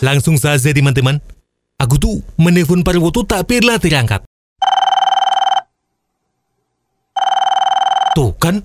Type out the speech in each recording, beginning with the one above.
Langsung saja teman-teman. Aku tuh menelpon Parwoto tak pernah terangkat. Tuh kan?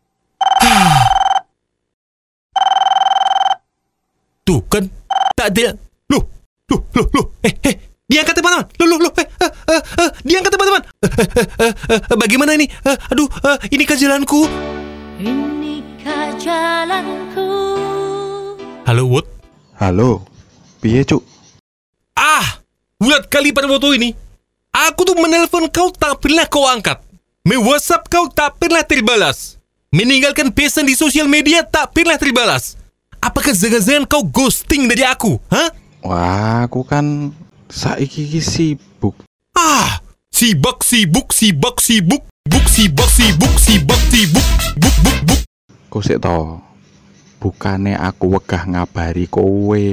Tuh kan? Tak ada. Loh. Diangkat teman-teman. Diangkat teman-teman. Bagaimana ini? Inikah jalanku? Inikah jalanku. Halo, Wood. Halo, piye cuk? Bulat kali Parwoto ini. Aku tuh menelpon kau tak pernah kau angkat. Me-WhatsApp kau tak pernah terbalas. Meninggalkan pesan di sosial media tak pernah terbalas. Apakah jangan-jangan kau ghosting dari aku? Hah? Wah, aku kan saiki sibuk. Sibuk. Buk. Kok sik to? Bukane aku wegah ngabari kowe,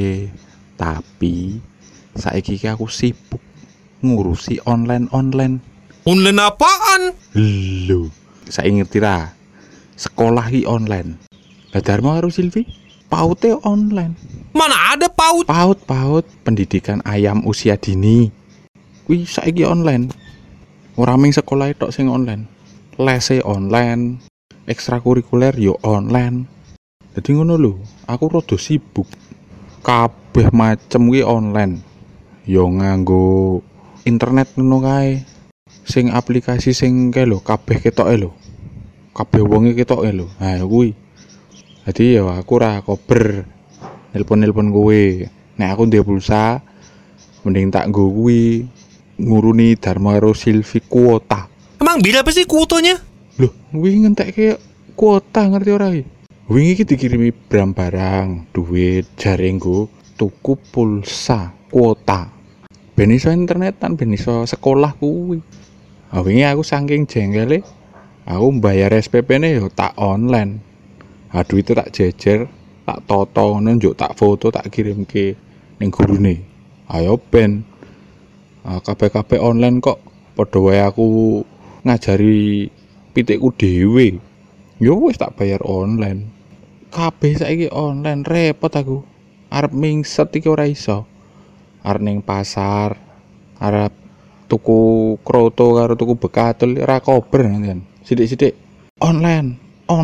tapi saiki aku sibuk ngurusi online. Online apaan? Lho, saya ngerti ra. Sekolah ki online. Lah Dharma karo Silvi paute online. Mana ada PAUD? Paut pendidikan ayam usia dini. Kuwi saiki online. Ora mung sekolah tok sing online. Lese online, ekstrakurikuler yo online. Dadi ngono lho, aku rada sibuk. Kabeh macem kuwi online. Yo nganggo internet ngono kae. Sing aplikasi sing kae lho, kabeh ketoke lho. Kabeh wonge ketoke lho. Ha kuwi. Dadi ya aku ora kober nelpon kowe. Nek aku ndek pulsa mending tak nggo kuwi nguruni Dharma karo Silvi kuota. Emang berapa sih kuotanya? Loh, kuwi ngentekke kuota ngerti ora iki? Wingi iki dikirimi barang, duit, jaringku, tuku pulsa, kuota. Ben iso internetan, ben iso sekolah kuwi. Wingi aku saking jenggele, aku mbayar SPP-ne yo tak online. Duite tak jejer, tak toto ngono njuk tak foto tak kirimke ning gurune. Ayo ben. Kabeh-kabeh online kok padha wae aku ngajari pitikku dhewe. Yo wis tak bayar online. Kabeh saiki online, repot aku. Arep mingset iki ora iso. Arep ning pasar, arep tuku kroto karo tuku bekatul ora kober kan. Sithik-sithik online.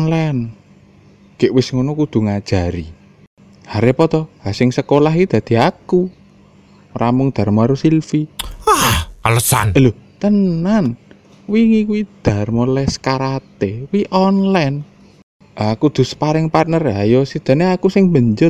Gek wis ngono kudu ngajari. Repot to, sing sekolah iki dadi aku. Ora mung Dharma karo Silvi. Alasan. Lho, tenan. Wingi kuwi Dharma les karate, kuwi online. Aku kudu sparring partner, ayo sidane aku sing benjut.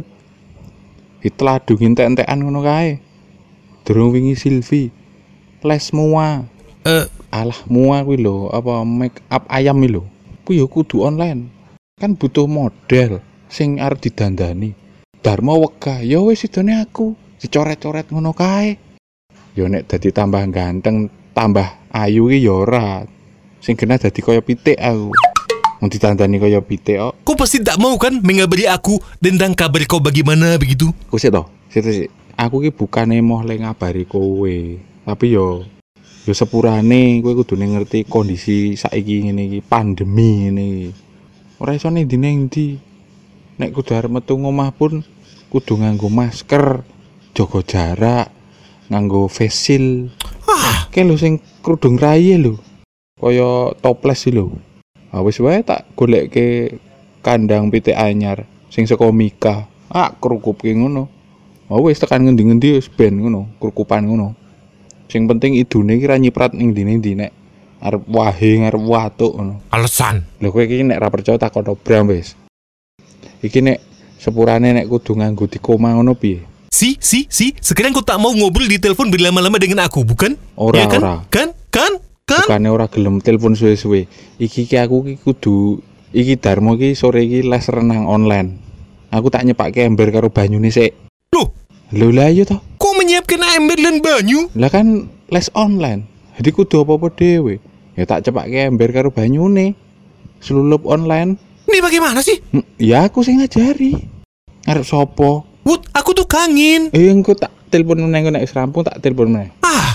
Ditladu entek-entekan ngono kae. Durung wingi Silvi les mua. Alah mua kuwi lho, apa make up ayam iki lho. Kuwi ya kudu online. Kan butuh model sing arep didandani. Dharma wegah, ya wis sidane aku. Dicoret-coret ngono kae. Ya nek dadi tambah ganteng, tambah ayu ki ya ora. Sing genah dadi kaya pitik aku. Mau ditandani kaya pitik kok. Kau pasti tak mau kan mengabari aku tentang kabar kau bagaimana begitu? Kusik to, sik. Aku ki bukane moh le ngabari kowe. Tapi yo sepurane kowe kudu ngerti kondisi saiki ngene iki, pandemi ngene iki. Ora iso ning ndi. Nek kudu arep metu ngomah pun kudu nganggo masker, jaga jarak, nganggo face shield. Kae lho sing kerudung raye lho. Kaya toples iki lho. Wis wae tak goleke kandang pitik anyar sing saka Mika. Krukupke ngono. Wis tekan ngendi-ngendi wis ben ngono, krukupan ngono. Sing penting idune iki ra nyiprat ning ndi-ndi nek arep wahe ngarep watuk ngono. Alasan. Lho kowe iki nek ra percaya takon Bram wis. Iki nek sepurane nek kudu nganggo di koma ngono piye? Si, sekarang kau tak mau ngobrol di telepon berlama-lama dengan aku, bukan? Ora, ya kan? ora. Kan? Bukane ora gelem telepon suwe-suwe. Iki aku kudu iki Dharma iki sore iki les renang online. Aku tak nyepake ember karo banyune sik. Lho lah iya to. Kok menyiapkan ember dan banyu? Lah kan les online. Jadi kudu apa-apa dhewe. Ya tak cepake ember karo banyune. Selulup online. Ini bagaimana sih? Ya aku sing ngajari. Arep sapa? Wood, aku tuh kangen. Engko tak telepon meneh nek wis rampung tak telepon meneh.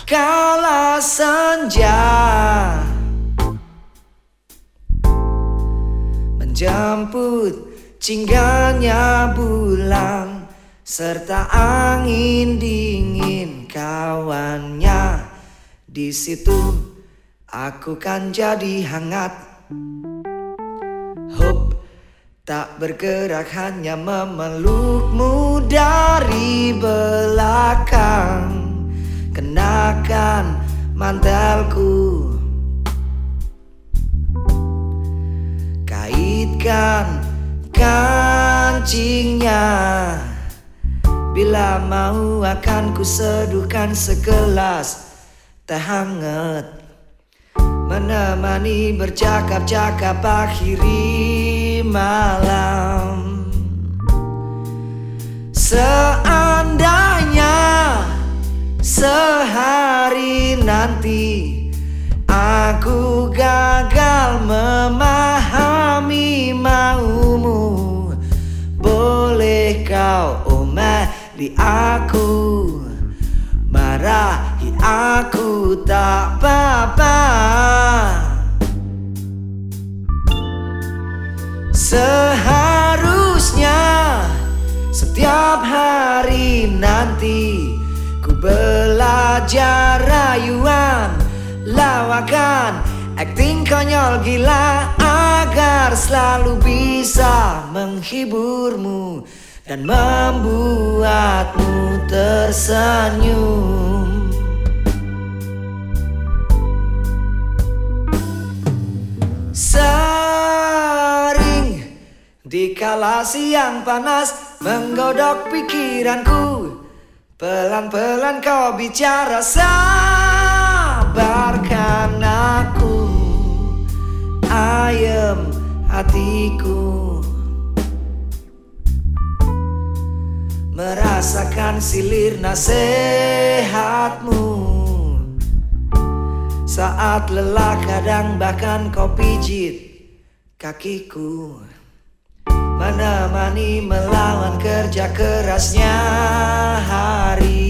Kala senja menjemput cinggalnya bulan serta angin dingin kawannya. Di situ aku kan jadi hangat. Hope tak bergerak, hanya memelukmu dari belakang. Kenakan mantelku, kaitkan kancingnya. Bila mau akan ku seduhkan segelas teh hangat, menemani bercakap-cakap akhiri malam. Seandainya sehari nanti aku gagal memahami maumu, boleh kau omeli aku, marahi aku tak apa-apa. Seharusnya setiap hari nanti ku belajar rayuan, lawakan, akting konyol gila, agar selalu bisa menghiburmu dan membuatmu tersenyum. Sering dikala siang panas menggodok pikiranku, pelan-pelan kau bicara, sabarkan aku, ayem hatiku. Merasakan silir nasihatmu, saat lelah kadang bahkan kau pijit kakiku, menemani melawan kerja kerasnya hari.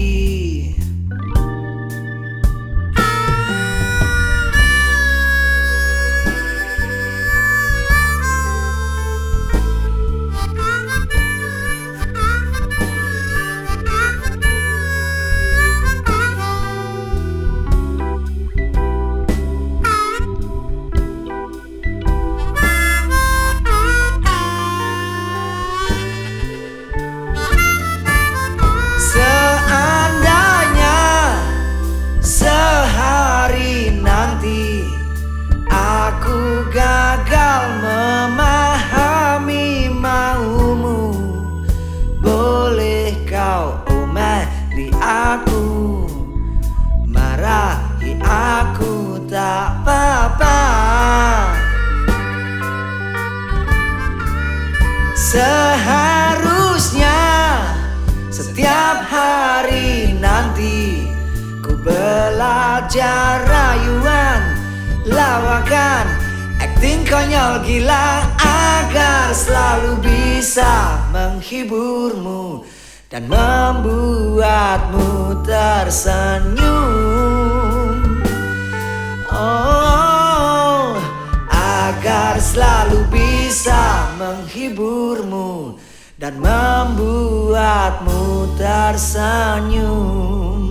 Gagal memahami maumu, boleh kau omeli aku, marahi aku tak apa-apa. Seharusnya setiap hari nanti ku belajar rayuan, lawakan, akting konyol gila, agar selalu bisa menghiburmu dan membuatmu tersenyum. Oh, agar selalu bisa menghiburmu dan membuatmu tersenyum.